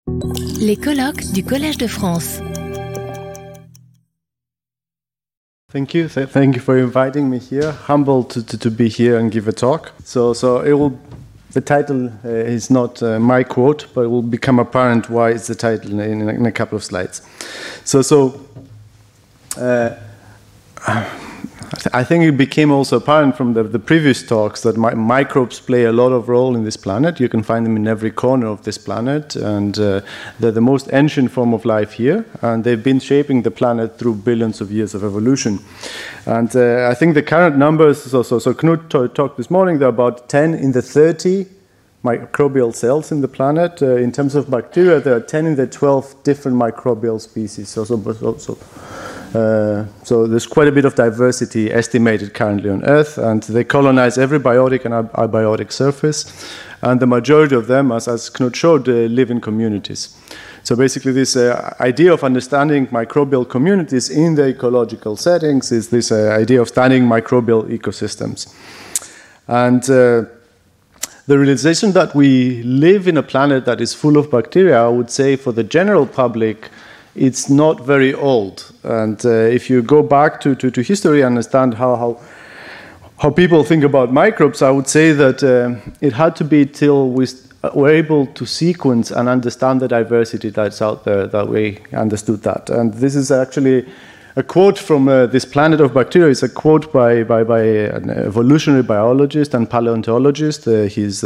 Les colloques du Collège de France. Thank you. Thank you for inviting me here. Humbled to be here and give a talk. So it will. The title is not my quote, but it will become apparent why it's the title in a couple of slides. I think it became also apparent from the previous talks that microbes play a lot of role in this planet. You can find them in every corner of this planet, and they're the most ancient form of life here, and they've been shaping the planet through billions of years of evolution. And I think the current numbers, so Knut talked this morning, there are about 10 in the 30 microbial cells in the planet. In terms of bacteria, there are 10 in the 12 different microbial species. So there's quite a bit of diversity estimated currently on Earth, and they colonize every biotic and abiotic surface, and the majority of them, as Knut showed, live in communities. So basically this idea of understanding microbial communities in the ecological settings is this idea of studying microbial ecosystems. And the realization that we live in a planet that is full of bacteria, I would say for the general public, it's not very old. And if you go back to history and understand how people think about microbes, I would say that it had to be till we were able to sequence and understand the diversity that's out there that we understood that. And this is actually a quote from This Planet of Bacteria. It's a quote by an evolutionary biologist and paleontologist. He's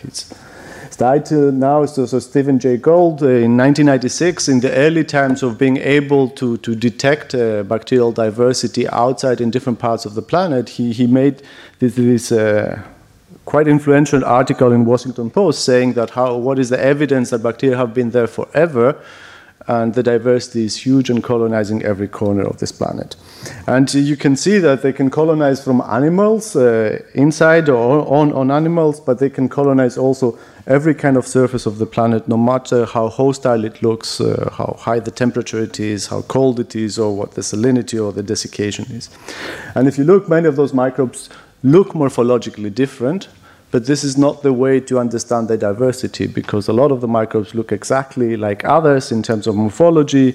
died now, so Stephen Jay Gould, in 1996, in the early times of being able to detect bacterial diversity outside in different parts of the planet, he made this quite influential article in Washington Post saying that what is the evidence that bacteria have been there forever, and the diversity is huge and colonizing every corner of this planet. And you can see that they can colonize from animals, inside or on animals, but they can colonize also every kind of surface of the planet, no matter how hostile it looks, how high the temperature it is, how cold it is, or what the salinity or the desiccation is. And if you look, many of those microbes look morphologically different, but this is not the way to understand their diversity, because a lot of the microbes look exactly like others in terms of morphology,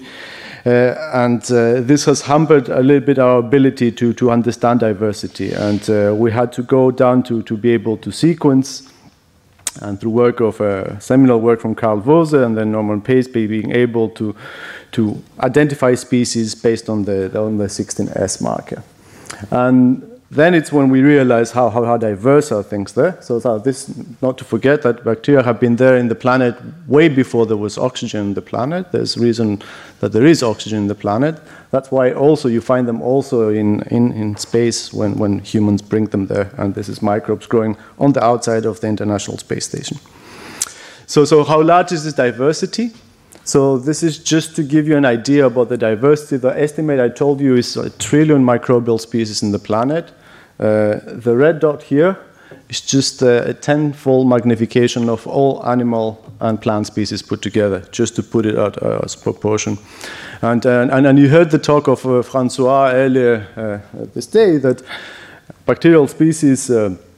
and this has hampered a little bit our ability to understand diversity. And we had to go down to be able to sequence, and through work of seminal work from Carl Vose and then Norman Paceby, being able to identify species based on the 16S marker. And then it's when we realize how diverse are things there. So this, not to forget that bacteria have been there in the planet way before there was oxygen in the planet. There's reason that there is oxygen in the planet. That's why also you find them also in space when humans bring them there. And this is microbes growing on the outside of the International Space Station. So how large is this diversity? So this is just to give you an idea about the diversity. The estimate I told you is 1 trillion microbial species in the planet. The red dot here is just a 10-fold magnification of all animal and plant species put together, just to put it out as proportion. And you heard the talk of Francois earlier this day, that bacterial species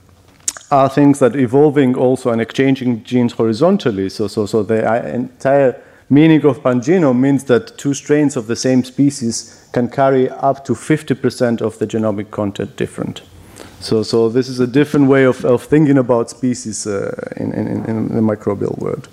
are things that evolving also and exchanging genes horizontally. So the entire meaning of pangenome means that two strains of the same species can carry up to 50% of the genomic content different. So this is a different way of thinking about species in the microbial world.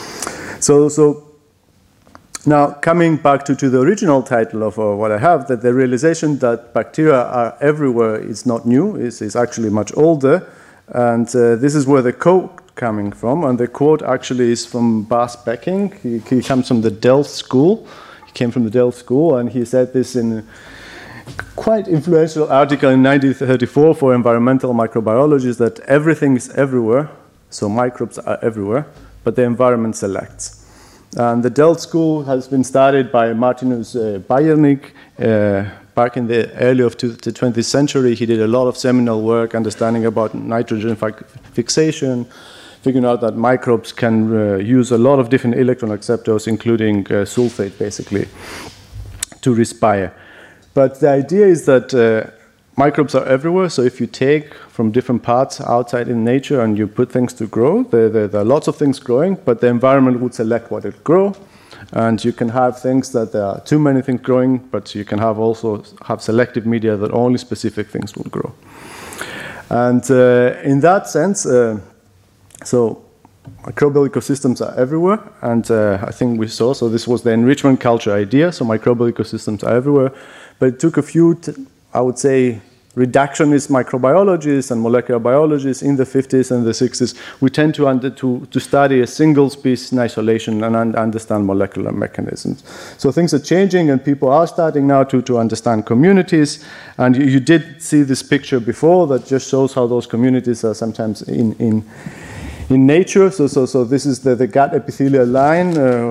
So now coming back to the original title of what I have, that the realization that bacteria are everywhere is not new, is actually much older, and this is where the quote coming from, and the quote actually is from Bas Becking. He comes from the Delft School. He came from the Delft School, and he said this in a quite influential article in 1934 for environmental microbiologists, that everything is everywhere, so microbes are everywhere, but the environment selects. And the Delft School has been started by Martinus Bayernik back in the early of the 20th century. He did a lot of seminal work understanding about nitrogen fixation, figuring out that microbes can use a lot of different electron acceptors, including sulfate, basically, to respire. But the idea is that microbes are everywhere, so if you take from different parts outside in nature and you put things to grow, there are lots of things growing, but the environment would select what it grow. And you can have things that there are too many things growing, but you can also have selective media that only specific things will grow. And in that sense, so microbial ecosystems are everywhere, and I think we saw, so this was the enrichment culture idea, so microbial ecosystems are everywhere, but it took a few, I would say, reductionist microbiologists and molecular biologists in the 50s and the 60s. We tend to study a single species in isolation and understand molecular mechanisms. So things are changing, and people are starting now to understand communities. And you did see this picture before that just shows how those communities are sometimes in nature. So this is the gut epithelial line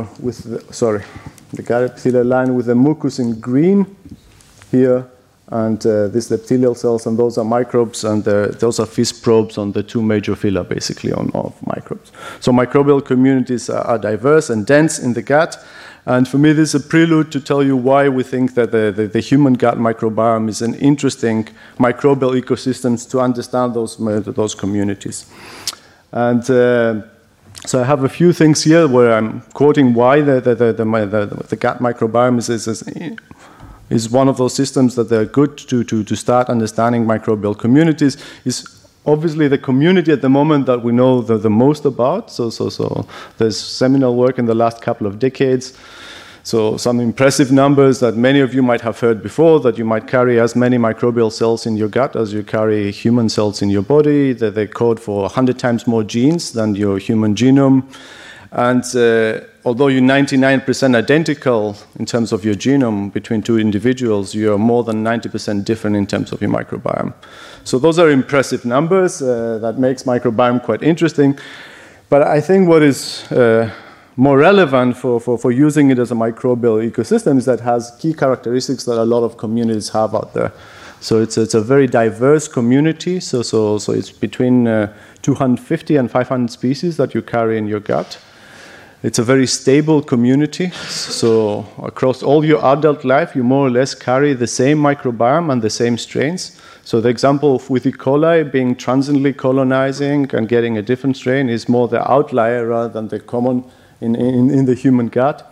the gut epithelial line with the mucus in green here. And these epithelial cells, and those are microbes, and those are FISP probes on the two major phyla, basically, of microbes. So microbial communities are diverse and dense in the gut. And for me, this is a prelude to tell you why we think that the human gut microbiome is an interesting microbial ecosystems to understand those communities. And so I have a few things here where I'm quoting why the gut microbiome is one of those systems that are good to start understanding microbial communities. Is obviously the community at the moment that we know the most about. So there's seminal work in the last couple of decades. So some impressive numbers that many of you might have heard before, that you might carry as many microbial cells in your gut as you carry human cells in your body, that they code for 100 times more genes than your human genome. And although you're 99% identical in terms of your genome between two individuals, you are more than 90% different in terms of your microbiome. So those are impressive numbers. That makes microbiome quite interesting. But I think what is more relevant for using it as a microbial ecosystem is that it has key characteristics that a lot of communities have out there. So it's a very diverse community. So it's between 250 and 500 species that you carry in your gut. It's a very stable community. So across all your adult life, you more or less carry the same microbiome and the same strains. So the example with E. coli being transiently colonizing and getting a different strain is more the outlier rather than the common in the human gut.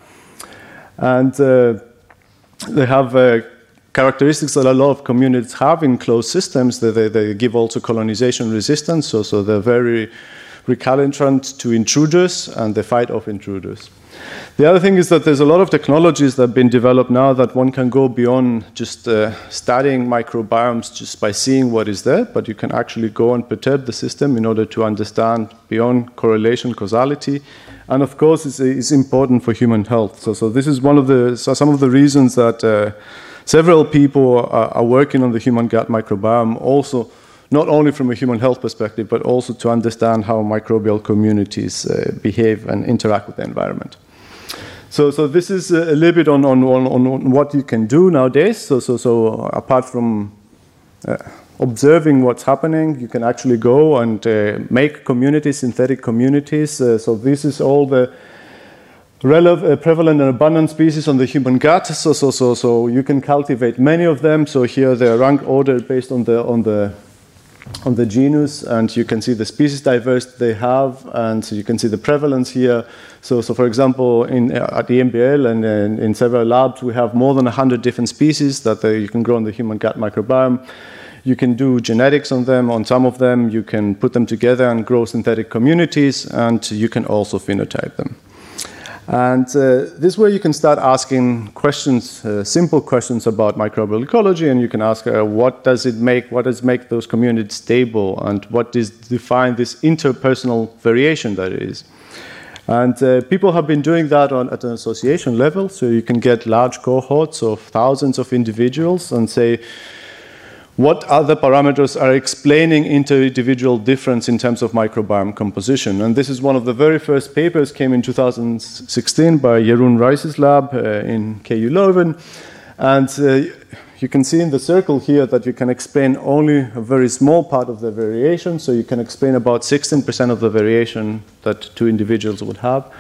And they have characteristics that a lot of communities have in closed systems. They give also colonization resistance. So they're very recalcitrant to intruders, and they fight off intruders. The other thing is that there's a lot of technologies that have been developed now that one can go beyond just studying microbiomes just by seeing what is there, but you can actually go and perturb the system in order to understand beyond correlation, causality. And of course, it's important for human health. So this is some of the reasons that several people are working on the human gut microbiome, also not only from a human health perspective, but also to understand how microbial communities behave and interact with the environment. So this is a little bit on what you can do nowadays. So apart from observing what's happening, you can actually go and make communities, synthetic communities. So this is all the prevalent and abundant species on the human gut. So you can cultivate many of them. So here they are rank ordered based on the genus, and you can see the species diversity they have, and so you can see the prevalence here. So for example, at the EMBL and in several labs, we have more than 100 different species that you can grow in the human gut microbiome. You can do genetics on them. On some of them, you can put them together and grow synthetic communities, and you can also phenotype them. And this way you can start asking questions, simple questions about microbial ecology, and you can ask what does make those communities stable, and what does define this interpersonal variation that it is. And people have been doing that at an association level, so you can get large cohorts of thousands of individuals and say, what other parameters are explaining inter-individual difference in terms of microbiome composition? And this is one of the very first papers, came in 2016 by Jeroen Rijs's lab in KU Leuven. And you can see in the circle here that you can explain only a very small part of the variation. So you can explain about 16% of the variation that two individuals would have.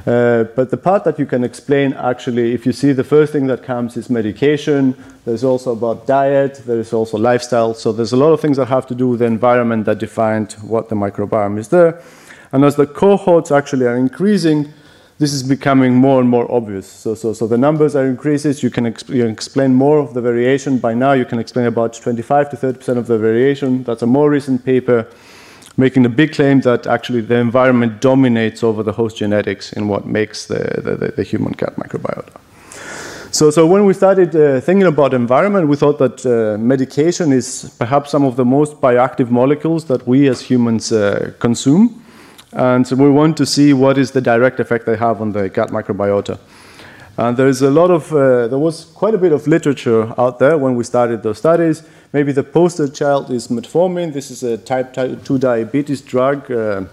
But the part that you can explain, actually, if you see the first thing that comes is medication, there's also about diet, there's also lifestyle. So there's a lot of things that have to do with the environment that defined what the microbiome is there. And as the cohorts actually are increasing, this is becoming more and more obvious. So the numbers are increasing. You can explain more of the variation. By now, you can explain about 25 to 30% of the variation. That's a more recent paper making the big claim that actually the environment dominates over the host genetics in what makes the human gut microbiota. So when we started thinking about environment, we thought that medication is perhaps some of the most bioactive molecules that we as humans consume. And so we want to see what is the direct effect they have on the gut microbiota. And there was quite a bit of literature out there when we started those studies. Maybe the poster child is metformin. This is a type 2 diabetes drug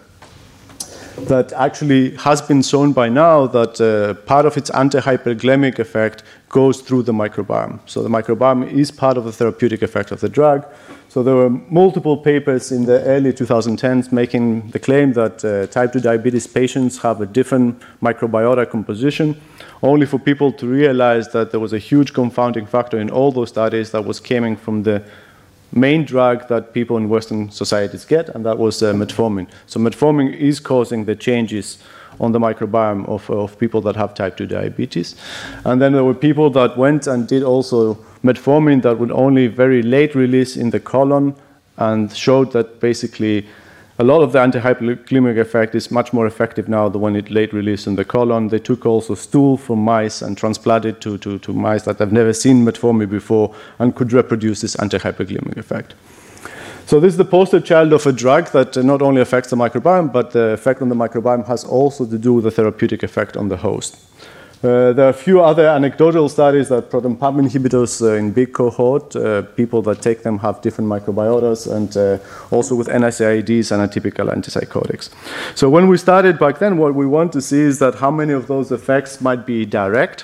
that actually has been shown by now that part of its anti-hyperglycemic effect goes through the microbiome. So the microbiome is part of the therapeutic effect of the drug. So there were multiple papers in the early 2010s making the claim that type 2 diabetes patients have a different microbiota composition, only for people to realize that there was a huge confounding factor in all those studies that was coming from the main drug that people in Western societies get, and that was metformin. So metformin is causing the changes on the microbiome of people that have type 2 diabetes. And then there were people that went and did also metformin that would only very late release in the colon and showed that basically a lot of the anti-hyperglycemic effect is much more effective now than when it late released in the colon. They took also stool from mice and transplanted to mice that have never seen metformin before and could reproduce this anti-hyperglycemic effect. So this is the poster child of a drug that not only affects the microbiome, but the effect on the microbiome has also to do with the therapeutic effect on the host. There are a few other anecdotal studies that proton pump inhibitors in big cohort, people that take them have different microbiotas, and also with NSAIDs and atypical antipsychotics. So when we started back then, what we want to see is that how many of those effects might be direct,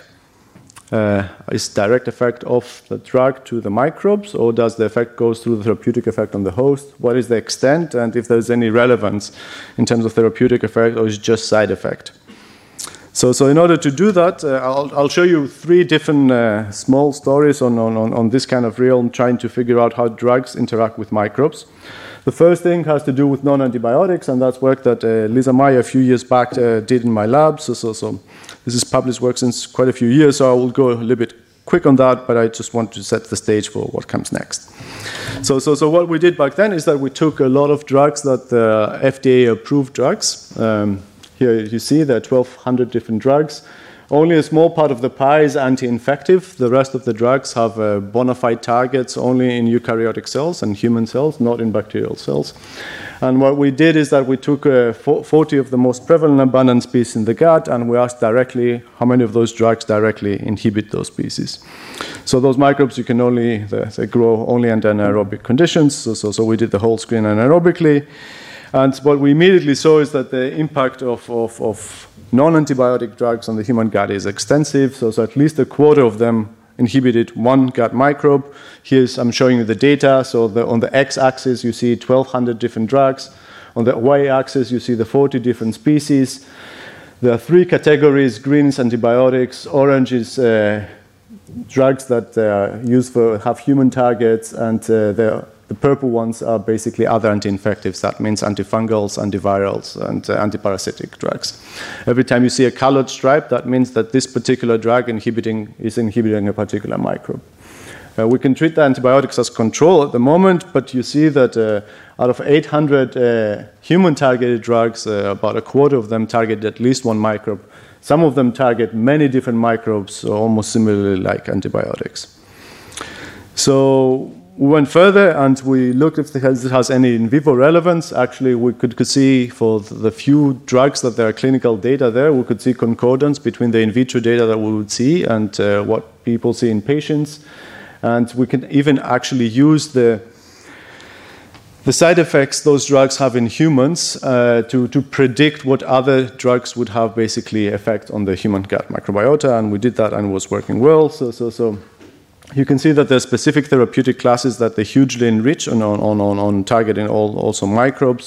is direct effect of the drug to the microbes, or does the effect goes through the therapeutic effect on the host? What is the extent, and if there's any relevance in terms of therapeutic effect, or is it just side effect? So in order to do that, I'll show you three different small stories on this kind of realm, trying to figure out how drugs interact with microbes. The first thing has to do with non-antibiotics, and that's work that Lisa Meyer a few years back did in my lab. So this is published work since quite a few years, so I will go a little bit quick on that, but I just want to set the stage for what comes next. So what we did back then is that we took a lot of drugs that the FDA-approved drugs. Here you see there are 1,200 different drugs. Only a small part of the pie is anti-infective. The rest of the drugs have bona fide targets only in eukaryotic cells and human cells, not in bacterial cells. And what we did is that we took 40 of the most prevalent abundant species in the gut, and we asked directly how many of those drugs directly inhibit those species. So those microbes, you can only, they grow only under anaerobic conditions. So we did the whole screen anaerobically. And what we immediately saw is that the impact of non-antibiotic drugs on the human gut is extensive. So at least a quarter of them inhibited one gut microbe. I'm showing you the data. So on the x-axis, you see 1,200 different drugs. On the y-axis, you see the 40 different species. There are three categories: green is antibiotics, orange is drugs that are used for have human targets, and the purple ones are basically other anti-infectives. That means antifungals, antivirals, and antiparasitic drugs. Every time you see a colored stripe, that means that this particular drug is inhibiting a particular microbe. We can treat the antibiotics as control at the moment, but you see that out of 800 human-targeted drugs, about a quarter of them target at least one microbe. Some of them target many different microbes, almost similarly like antibiotics. So we went further and we looked if it has any in vivo relevance. Actually, we could see for the few drugs that there are clinical data there, we could see concordance between the in vitro data that we would see and what people see in patients. And we can even actually use the side effects those drugs have in humans to predict what other drugs would have basically effect on the human gut microbiota. And we did that and it was working well. So you can see that there are specific therapeutic classes that they hugely enrich on targeting also microbes.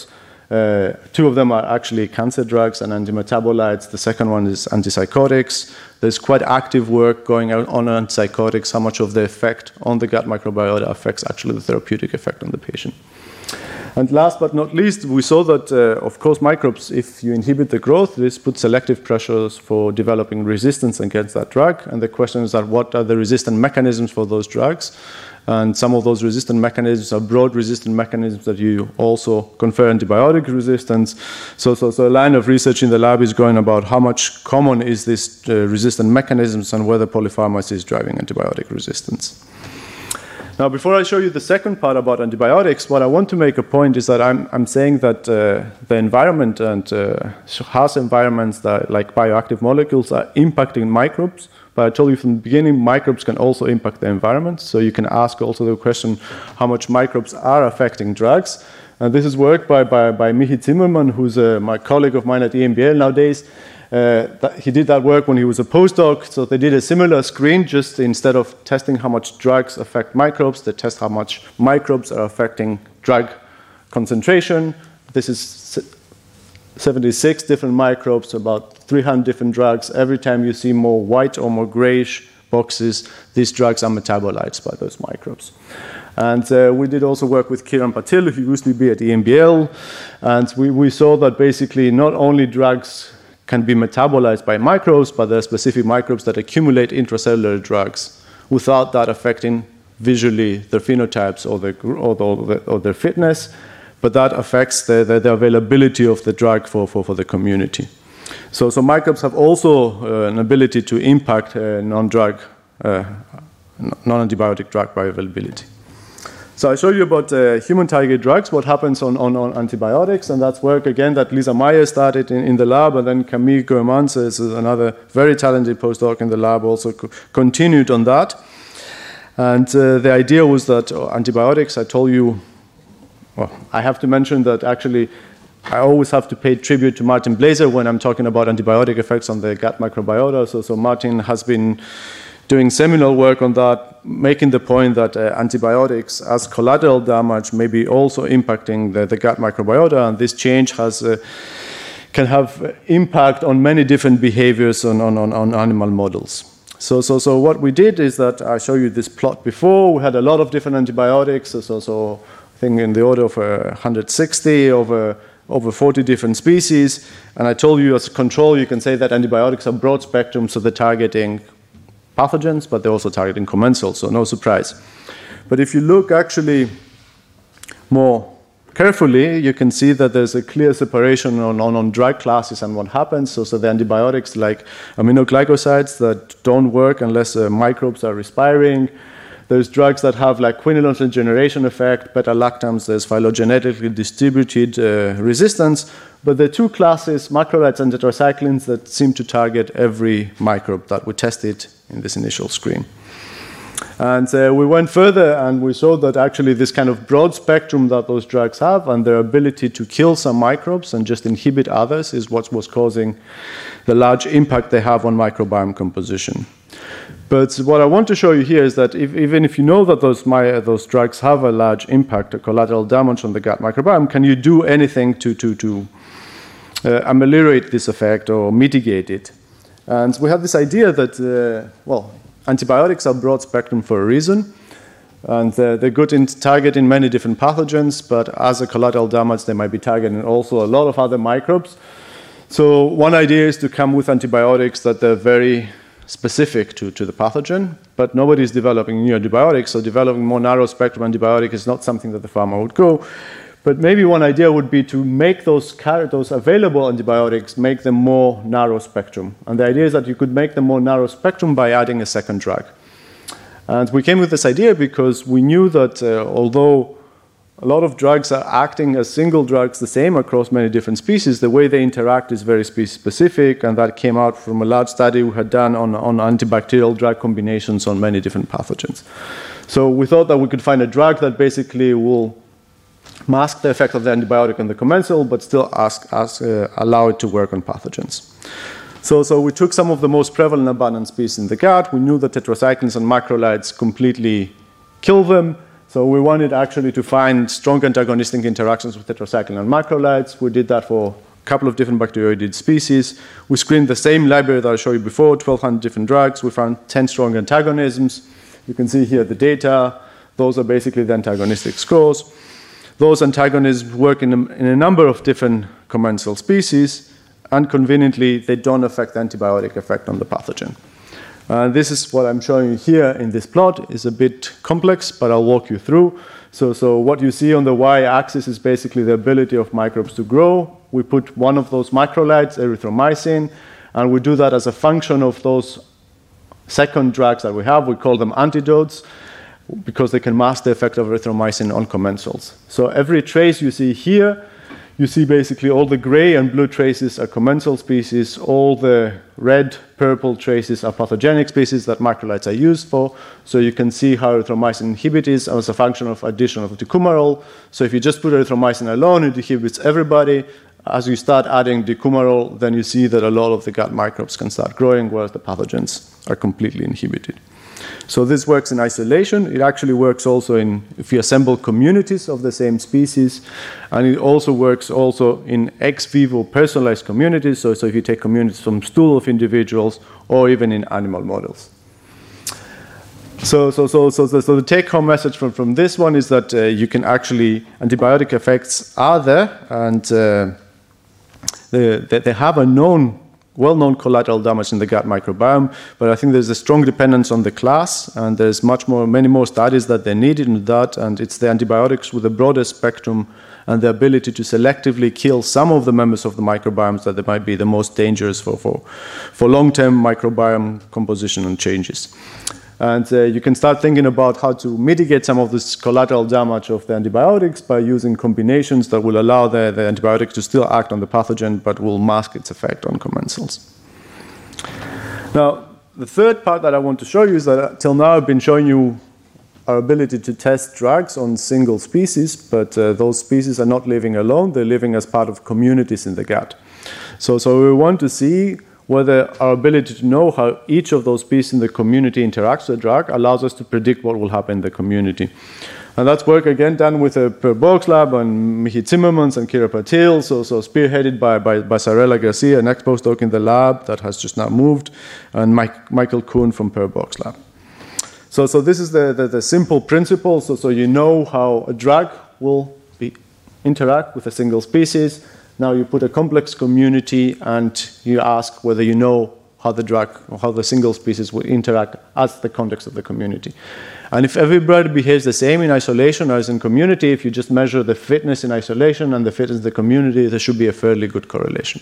Two of them are actually cancer drugs and antimetabolites. The second one is antipsychotics. There's quite active work going on antipsychotics, how much of the effect on the gut microbiota affects actually the therapeutic effect on the patient. And last but not least, we saw that, of course, microbes, if you inhibit the growth, this puts selective pressures for developing resistance against that drug. And the question is that what are the resistant mechanisms for those drugs? And some of those resistant mechanisms are broad resistant mechanisms that you also confer antibiotic resistance. So a line of research in the lab is going about how much common is this resistant mechanisms and whether polypharmacy is driving antibiotic resistance. Now, before I show you the second part about antibiotics, what I want to make a point is that I'm saying that the environment and harsh environments that, like bioactive molecules, are impacting microbes. But I told you from the beginning, microbes can also impact the environment. So you can ask also the question how much microbes are affecting drugs. And this is work by Michi Zimmermann, who's my colleague of mine at EMBL nowadays. He did that work when he was a postdoc. So they did a similar screen, just instead of testing how much drugs affect microbes, they test how much microbes are affecting drug concentration. This is 76 different microbes, about 300 different drugs. Every time you see more white or more grayish boxes, these drugs are metabolites by those microbes. And we did also work with Kiran Patil, who used to be at EMBL. And we saw that basically not only drugs can be metabolized by microbes, but there are specific microbes that accumulate intracellular drugs without that affecting visually their phenotypes or their fitness, but that affects the availability of the drug for the community. So microbes have also an ability to impact non-antibiotic drug bioavailability. So I showed you about human target drugs, what happens on antibiotics, and that's work again that Lisa Meyer started in the lab, and then Camille Goemans is another very talented postdoc in the lab, also continued on that. And the idea was that antibiotics, I told you, well, I have to mention that actually I always have to pay tribute to Martin Blaser when I'm talking about antibiotic effects on the gut microbiota. So Martin has been doing seminal work on that, making the point that antibiotics as collateral damage may be also impacting the gut microbiota, and this change can have impact on many different behaviors on animal models. So what we did is that I showed you this plot before. We had a lot of different antibiotics, so I think in the order of 160 over 40 different species, and I told you as a control, you can say that antibiotics are broad spectrum, so they're targeting pathogens, but they're also targeting commensals, so no surprise. But if you look actually more carefully, you can see that there's a clear separation on drug classes and what happens. So the antibiotics like aminoglycosides that don't work unless microbes are respiring. There's drugs that have like quinolone regeneration effect, beta-lactams, there's phylogenetically distributed resistance. But there are two classes, macrolides and tetracyclines, that seem to target every microbe that we tested in this initial screen. And we went further and we saw that actually this kind of broad spectrum that those drugs have and their ability to kill some microbes and just inhibit others is what was causing the large impact they have on microbiome composition. But what I want to show you here is that even if you know that those drugs have a large impact, a collateral damage on the gut microbiome, can you do anything to ameliorate this effect or mitigate it? And we have this idea that, antibiotics are broad spectrum for a reason, and they're good in targeting many different pathogens, but as a collateral damage, they might be targeting also a lot of other microbes. So one idea is to come with antibiotics that they're very specific to the pathogen, but nobody is developing new antibiotics, so developing more narrow spectrum antibiotic is not something that the pharma would go. But maybe one idea would be to make those available antibiotics, make them more narrow spectrum. And the idea is that you could make them more narrow spectrum by adding a second drug. And we came with this idea because we knew that although a lot of drugs are acting as single drugs the same across many different species, the way they interact is very species-specific, and that came out from a large study we had done on antibacterial drug combinations on many different pathogens. So we thought that we could find a drug that basically will mask the effect of the antibiotic on the commensal, but still allow it to work on pathogens. So we took some of the most prevalent abundant species in the gut. We knew that tetracyclines and macrolides completely kill them. So we wanted actually to find strong antagonistic interactions with tetracycline and macrolides. We did that for a couple of different bacteroidid species. We screened the same library that I showed you before, 1,200 different drugs. We found 10 strong antagonisms. You can see here the data. Those are basically the antagonistic scores. Those antagonisms work in a number of different commensal species, and conveniently, they don't affect the antibiotic effect on the pathogen. This is what I'm showing you here in this plot. It's a bit complex, but I'll walk you through. So what you see on the y-axis is basically the ability of microbes to grow. We put one of those macrolides, erythromycin, and we do that as a function of those second drugs that we have. We call them antidotes because they can mask the effect of erythromycin on commensals. So every trace you see here, you see basically all the gray and blue traces are commensal species, all the red, purple traces are pathogenic species that macrolides are used for. So you can see how erythromycin inhibits as a function of addition of decumarol. So if you just put erythromycin alone, it inhibits everybody. As you start adding decumarol, then you see that a lot of the gut microbes can start growing, whereas the pathogens are completely inhibited. So this works in isolation. It actually works also if you assemble communities of the same species, and it also works also in ex vivo personalized communities. So if you take communities from stool of individuals or even in animal models. So the take-home message from this one is that you can actually antibiotic effects are there, and they have a well-known collateral damage in the gut microbiome, but I think there's a strong dependence on the class, and there's many more studies that they needed in that, and it's the antibiotics with the broadest spectrum and the ability to selectively kill some of the members of the microbiomes that they might be the most dangerous for long-term microbiome composition and changes. And you can start thinking about how to mitigate some of this collateral damage of the antibiotics by using combinations that will allow the antibiotic to still act on the pathogen but will mask its effect on commensals. Now, the third part that I want to show you is that till now I've been showing you our ability to test drugs on single species, but those species are not living alone. They're living as part of communities in the gut. So we want to see whether our ability to know how each of those species in the community interacts with the drug allows us to predict what will happen in the community. And that's work, again, done with Per Borg's lab and Michi Zimmermans and Kira Patil, so spearheaded by Sarella Garcia, an ex-postdoc in the lab that has just now moved, and Michael Kuhn from Per Borg's lab. So this is the simple principle. So you know how a drug will interact with a single species. Now you put a complex community and you ask whether you know how the drug or how the single species will interact as the context of the community. And if everybody behaves the same in isolation as in community, if you just measure the fitness in isolation and the fitness in the community, there should be a fairly good correlation.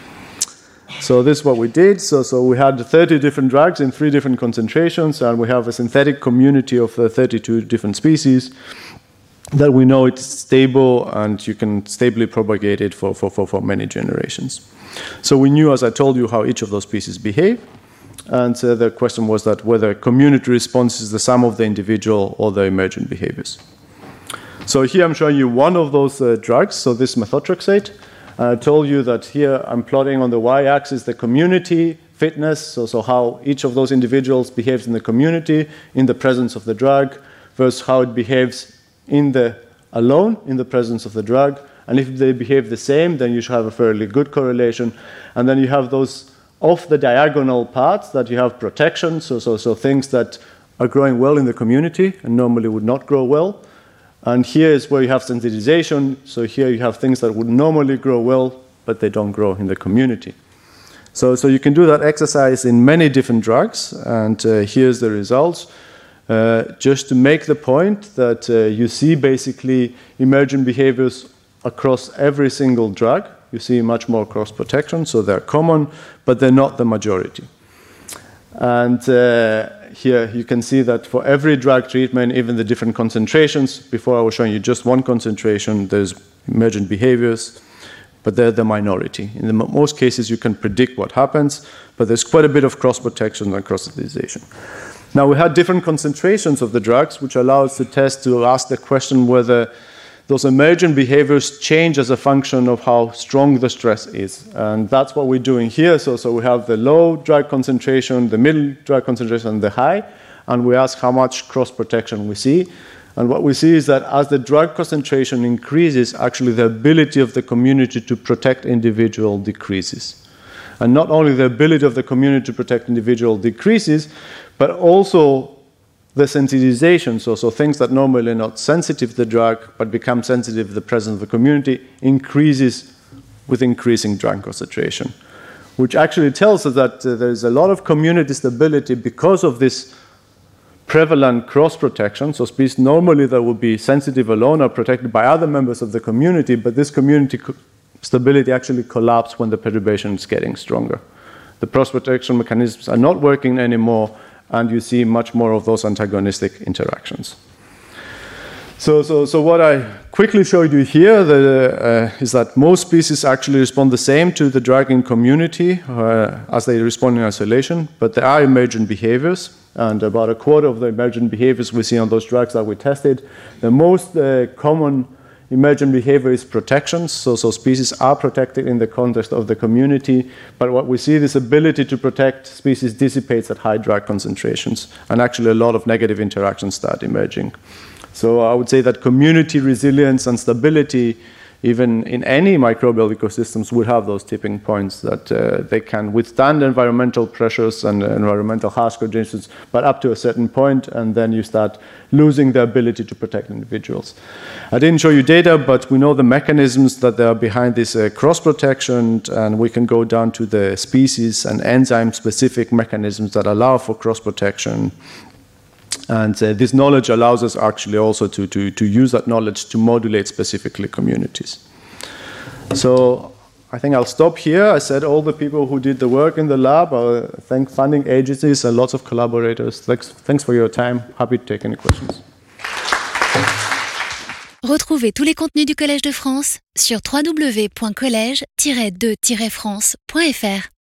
So this is what we did. So we had 30 different drugs in 3 different concentrations, and we have a synthetic community of 32 different species that we know it's stable and you can stably propagate it for many generations. So we knew, as I told you, how each of those species behave. And the question was that whether community response is the sum of the individual or the emergent behaviors. So here I'm showing you one of those drugs. So this methotrexate. I told you that here I'm plotting on the y-axis the community fitness, so how each of those individuals behaves in the community in the presence of the drug versus how it behaves alone in the presence of the drug. And if they behave the same, then you should have a fairly good correlation. And then you have those off the diagonal parts that you have protection, so things that are growing well in the community and normally would not grow well. And here is where you have sensitization. So here you have things that would normally grow well, but they don't grow in the community. So you can do that exercise in many different drugs, and here's the results. Just to make the point that you see basically emergent behaviors across every single drug. You see much more cross-protection, so they're common, but they're not the majority. And here you can see that for every drug treatment, even the different concentrations, before I was showing you just one concentration, there's emergent behaviors, but they're the minority. In most cases, you can predict what happens, but there's quite a bit of cross-protection and cross-sensitization. Now, we had different concentrations of the drugs, which allow us to ask the question whether those emergent behaviors change as a function of how strong the stress is. And that's what we're doing here. So we have the low drug concentration, the middle drug concentration, and the high. And we ask how much cross-protection we see. And what we see is that as the drug concentration increases, actually the ability of the community to protect individual decreases. And not only the ability of the community to protect individual decreases, but also the sensitization, so things that normally are not sensitive to the drug but become sensitive to the presence of the community, increases with increasing drug concentration, which actually tells us that there's a lot of community stability because of this prevalent cross-protection. So species normally that would be sensitive alone are protected by other members of the community, but this community stability actually collapses when the perturbation is getting stronger. The cross-protection mechanisms are not working anymore, and you see much more of those antagonistic interactions. So what I quickly showed you here is that most species actually respond the same to the drug in community as they respond in isolation, but there are emergent behaviors, and about a quarter of the emergent behaviors we see on those drugs that we tested. The most common emergent behavior is protection, so species are protected in the context of the community, but what we see, this ability to protect species dissipates at high drug concentrations, and actually a lot of negative interactions start emerging. So I would say that community resilience and stability, even in any microbial ecosystems, would have those tipping points that they can withstand environmental pressures and environmental harsh conditions, but up to a certain point, and then you start losing the ability to protect individuals. I didn't show you data, but we know the mechanisms that are behind this cross-protection, and we can go down to the species and enzyme-specific mechanisms that allow for cross-protection. And this knowledge allows us actually also to use that knowledge to modulate specifically communities. So I think I'll stop here. I said all the people who did the work in the lab, thank funding agencies and lots of collaborators. Thanks for your time. Happy to take any questions. Retrouvez tous les contenus du Collège de France sur www.collège-2-france.fr.